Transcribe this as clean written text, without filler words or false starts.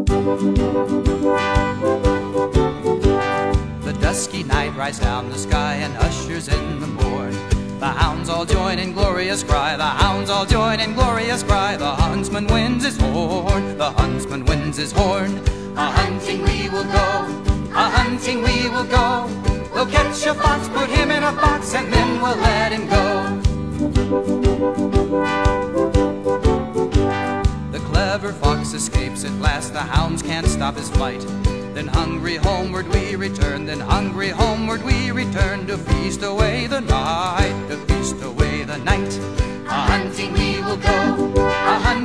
The dusky night rides down the sky and ushers in the morn. The hounds all join in glorious cry, the hounds all join in glorious cry. The huntsman winds his horn, the huntsman winds his horn. A-hunting we will go, a-hunting we will go. We'll catch a fox, put him in a box, and then we'll let him go. The clever fox escapes at last, the hounds can't stop his flight. Then hungry homeward we return, then hungry homeward we return, to feast away the night, to feast away the night. A-hunting we will go, a-hunting